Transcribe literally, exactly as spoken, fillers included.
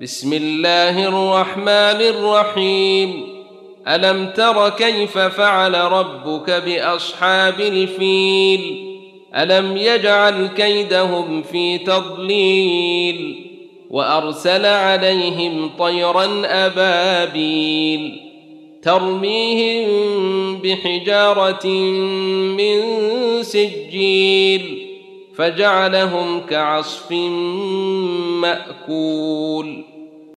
بسم الله الرحمن الرحيم. ألم تر كيف فعل ربك بأصحاب الفيل؟ ألم يجعل كيدهم في تضليل وأرسل عليهم طيرا أبابيل ترميهم بحجارة من سجيل فجعلهم كعصف مأكول.